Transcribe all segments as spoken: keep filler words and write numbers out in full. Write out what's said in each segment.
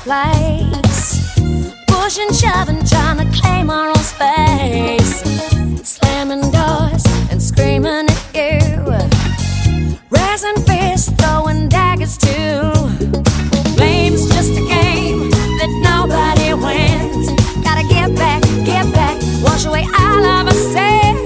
place. Pushing, shoving, trying to claim our own space. Slamming doors and screaming at you. Raising fists, throwing daggers too. Flame's just a game that nobody wins. Gotta get back, get back, wash away all of our sins.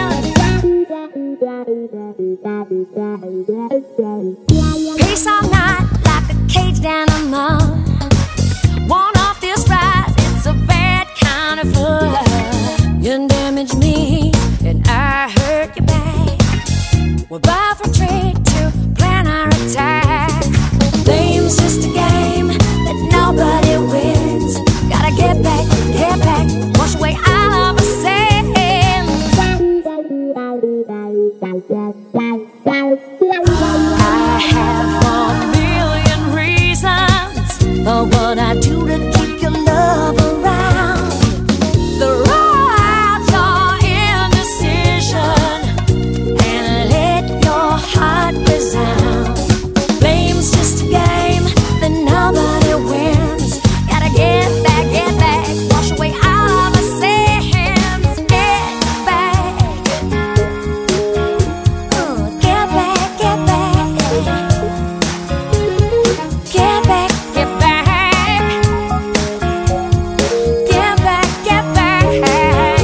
Peace all night like a caged animal. Want off this ride, it's a bad kind of fun. You damage me and I hurt you back. We're about to retreat to plan our attack. Flame's just a game that nobody wins. Gotta get back, get back, wash away all of our sins. I have a million reasons for what I do to keep your love around. The right your indecision and let your heart resound. Flame's just a game that nobody wins. Gotta get back, get back, wash away all of our sins. Get back, uh, get back, get back, get back, get back, get back, get back.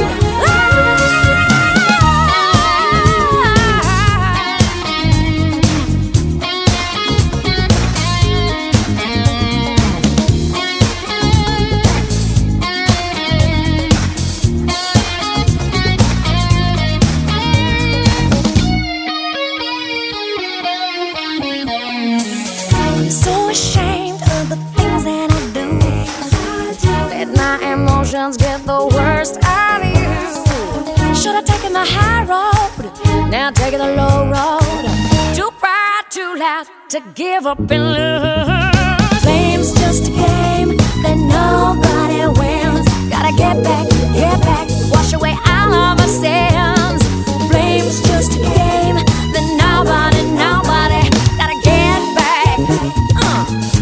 I'm so ashamed of the things that I do. Let my emotions get the worst out of you. Should have taken the high road, now taking the low road. Too proud, too loud to give up and lose. Flame's just a game that nobody wins. Gotta get back, get back, wash away all of our sins. Flame's just a game that nobody, nobody gotta get back. Uh.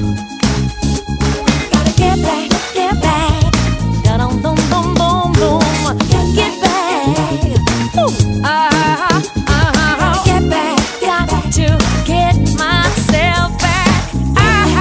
Gotta get back, get back. Da-dum, boom, boom, boom, boom. Get back. Ooh. Uh, uh, uh, get back. Got to get myself back. I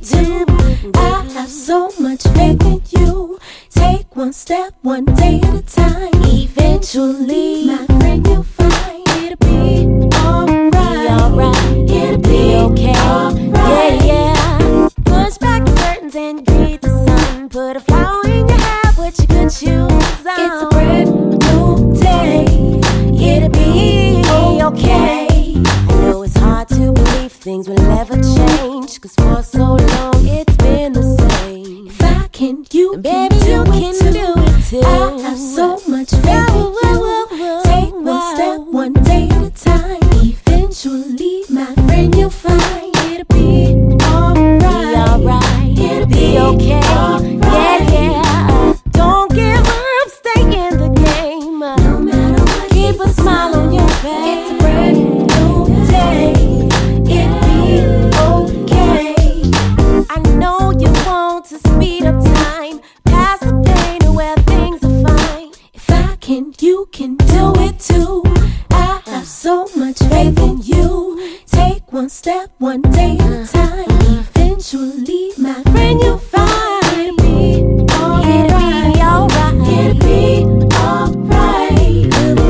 do. I have so much faith in you. Take one step, one day at a time. Eventually, my friend, you'll find it'll be alright. Be alright. It'll be okay. Alright. Yeah, yeah. Push back the curtains and greet the sun. Put a flower in your hair, put your good shoes on. It's a brand new day. It'll be okay. I know it's hard to believe things will ever change, 'cause for so long it's been the same. If I can, you and can, baby, do, you it can too. do it too. I have so much faith in you. Take one step, one day at a time. Eventually, my friend, you'll find it'll be alright. Be alright. It'll be okay. Right. Yeah, yeah. Don't give up, stay in the game. No matter what, keep a smile on your face. It's a brand new day. It'll be okay. I know you want to speed up time, past the pain to where things are fine. If I can, you can do it too. I have so much faith in you. Take one step, one day at a time. Eventually, my friend, you'll find it'll be alright. It'll be alright. It'll be alright.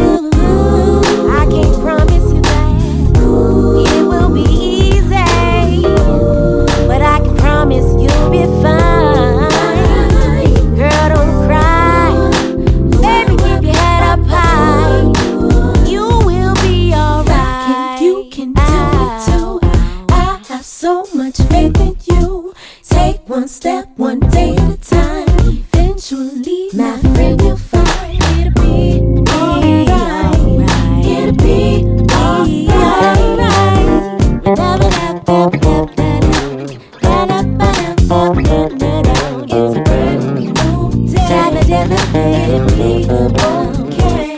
I can't promise you that it will be easy, but I can promise you'll be fine. Girl, don't cry. Baby, keep your head up high. You will be alright. You can do it too. I have so much faith in you. Take one step, one day at a time. Eventually, my friend, you'll find it'll be alright. It'll be alright. It's a brand new day. It'll be okay.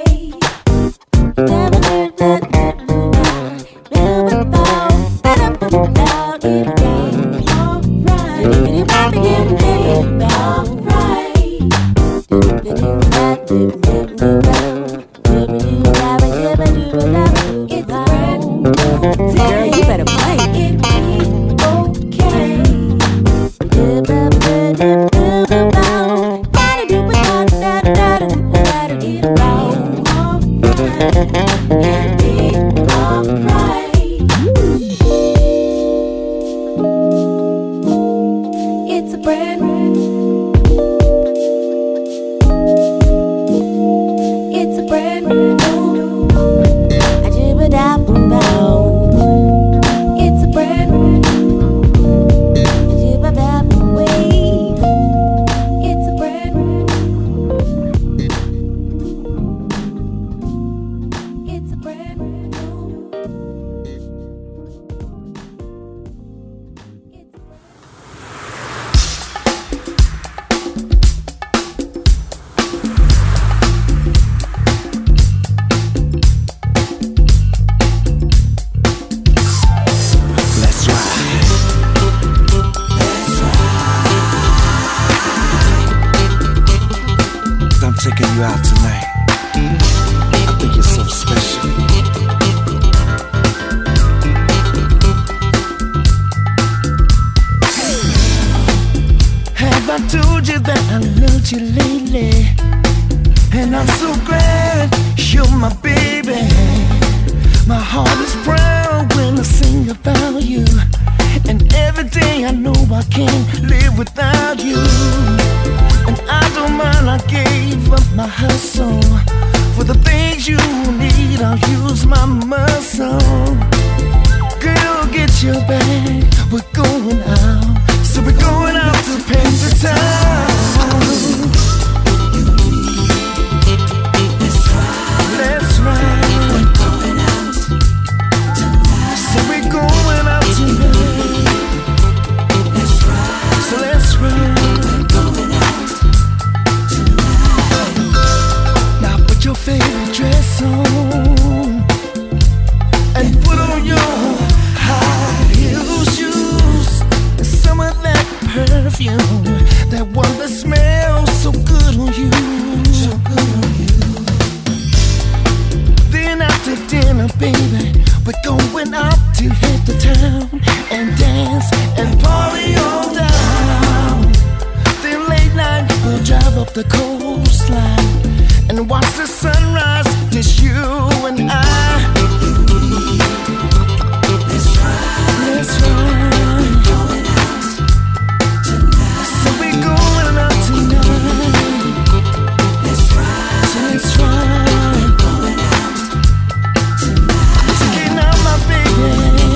Girl, you better play. It'll be okay. It's a brand new. It's a brand new. I do it up and down. It's a brand new. I do it up and way. It's a brand new. It's a brand new. Taking you out tonight. I think you're so special. Have I told you that I loved you lately? And I'm so glad you're my baby. My heart is proud when I sing about you. And every day I know I can't live without you. And I don't mind, I gave up my hustle. For the things you need, I'll use my muscle. Girl, get your bag, we're going out. So we're going out to paint the town. That's right. That's right. We're going out tonight. So we're going out tonight. That's right. So let's run. Your favorite dress on and put on your high heel shoes and some of that perfume, that one that smells so good on you. So good on you. Then after dinner, baby, We're going out to hit the town and dance and party all down. Then late night we'll drive up the coastline and watch the sunrise, just you and I. Let's ride, let's ride. We're going out tonight. So we're going out tonight. Let's ride, so let's ride. We're going out tonight. Taking out my baby.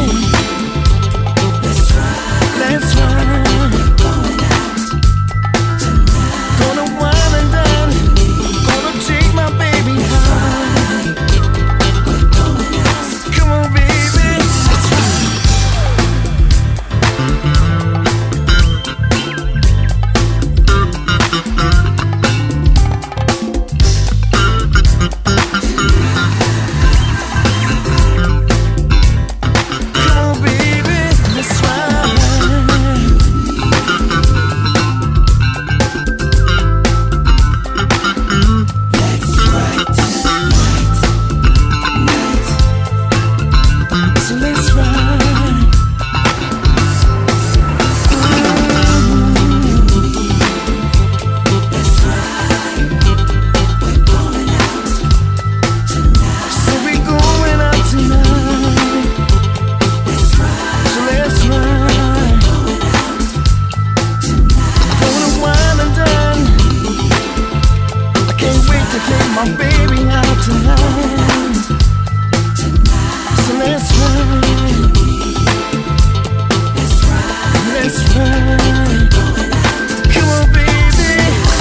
Let's ride, let's ride. We're going out tonight. Gonna wine and dine. Gonna take my baby high. We're going out. Come on, baby. Let's ride. Come on, baby. Let's ride. So let's ride. Let's ride. We're going out tonight. So we're going out tonight. Let's ride. So let's ride. Going out tonight. Gonna wine and dine. I can't wait to take my baby out tonight. So let's ride. Let's ride. Let's ride. Come on, baby.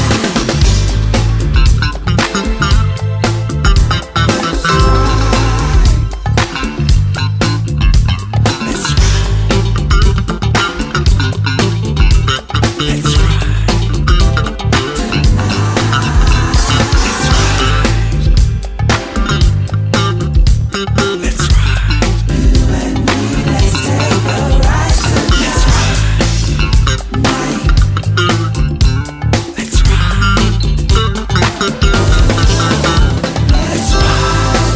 Let's ride. Let's ride. Let's ride. Let's ride. You and me, let's take a ride tonight. Let's ride. Night. Let's ride. Let's ride.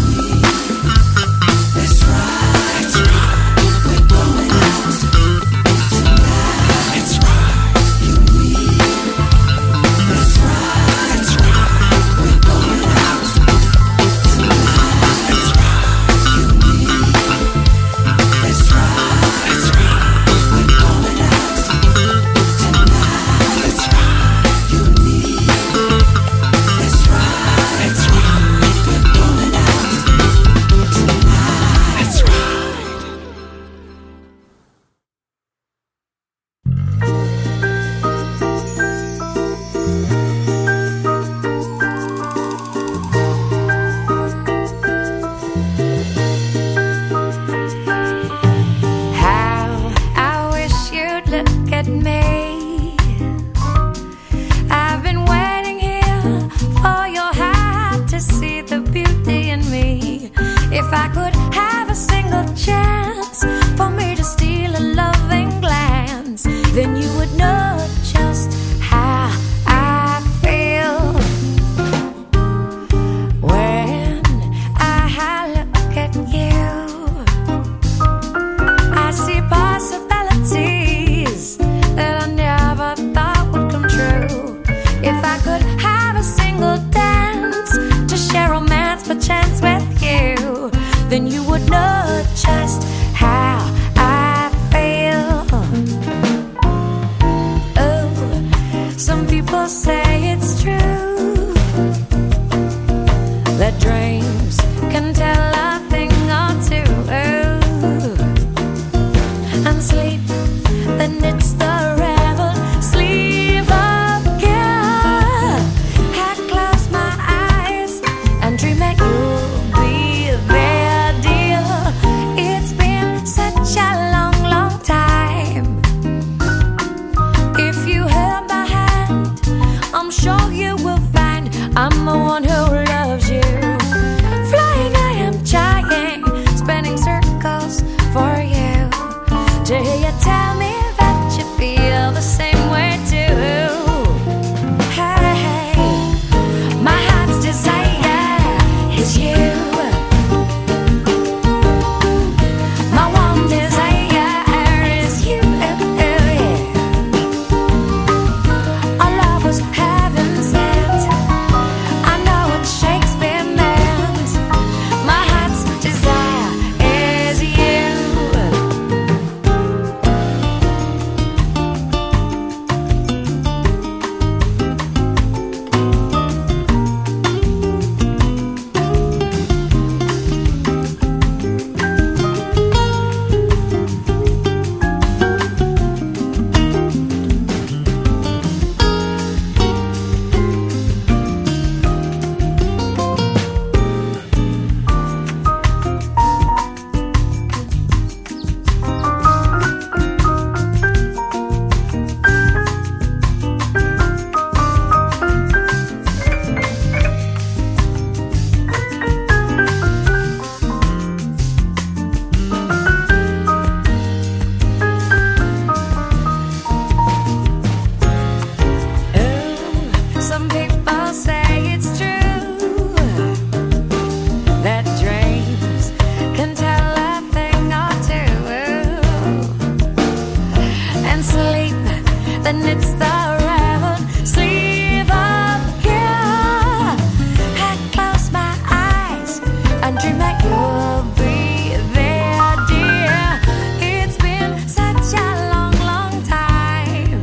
Let's ride. Let's ride. We're going out tonight. Let's ride. You and me. Let's ride. Let's ride. We're going out tonight. Let's ride. You and me. Let's ride. Let's ride. We're going out tonight. Let's ride. You and me. Let's ride. Let's ride. We're going out tonight. Let's ride. How I wish you'd look at me. I've been waiting here for your heart to see the beauty in me. If I could have a single chance for me to steal a loving glance, then you would know just how I feel. When I look at you, I see possibilities that I never thought would come true. If I could have a single dance to share romance perchance with you, then you would know just how I feel. Oh, some people say it's true that dreams can tell a thing or two. Oh, and sleep, then it's the rebel sleep of care. I close my eyes and dream that you'll be there, dear. It's been such a long, long time. If you held my hand and it's the red sleeve of care. I close my eyes and dream that you'll be there, dear. It's been such a long, long time.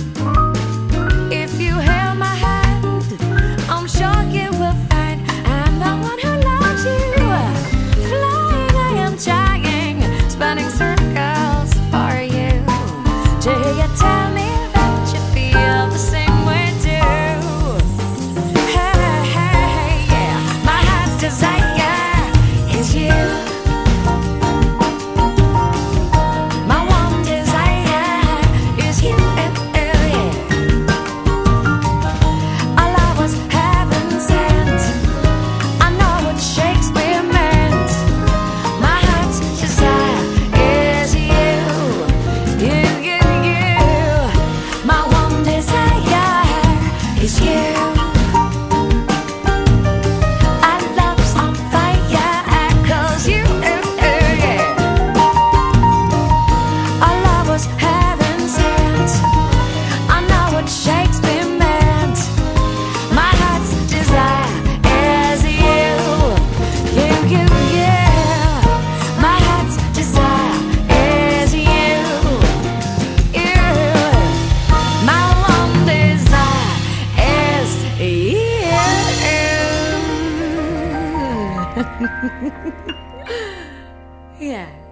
If you held my hand, I'm sure you will find I'm the one who loves you. Flying, I am trying, spinning circles for you. Do you tell me that you feel the same way too? Hey, hey, hey, yeah. My heart's desire is you. My one desire is you. Yeah. Our love was heaven sent. I know what Shakespeare meant. My heart's desire is you. You, you, you. My one desire is you. Our love's on fire 'cause you, yeah. Our love was heaven sent. I know what Shakespeare meant. My heart's desire is you. You, you, yeah. My heart's desire is you. You. My one desire is you. Yeah.